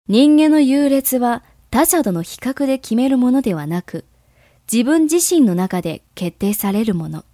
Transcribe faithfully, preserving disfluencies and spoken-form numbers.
人間の優劣は他者との比較で決めるものではなく、自分自身の中で決定されるもの。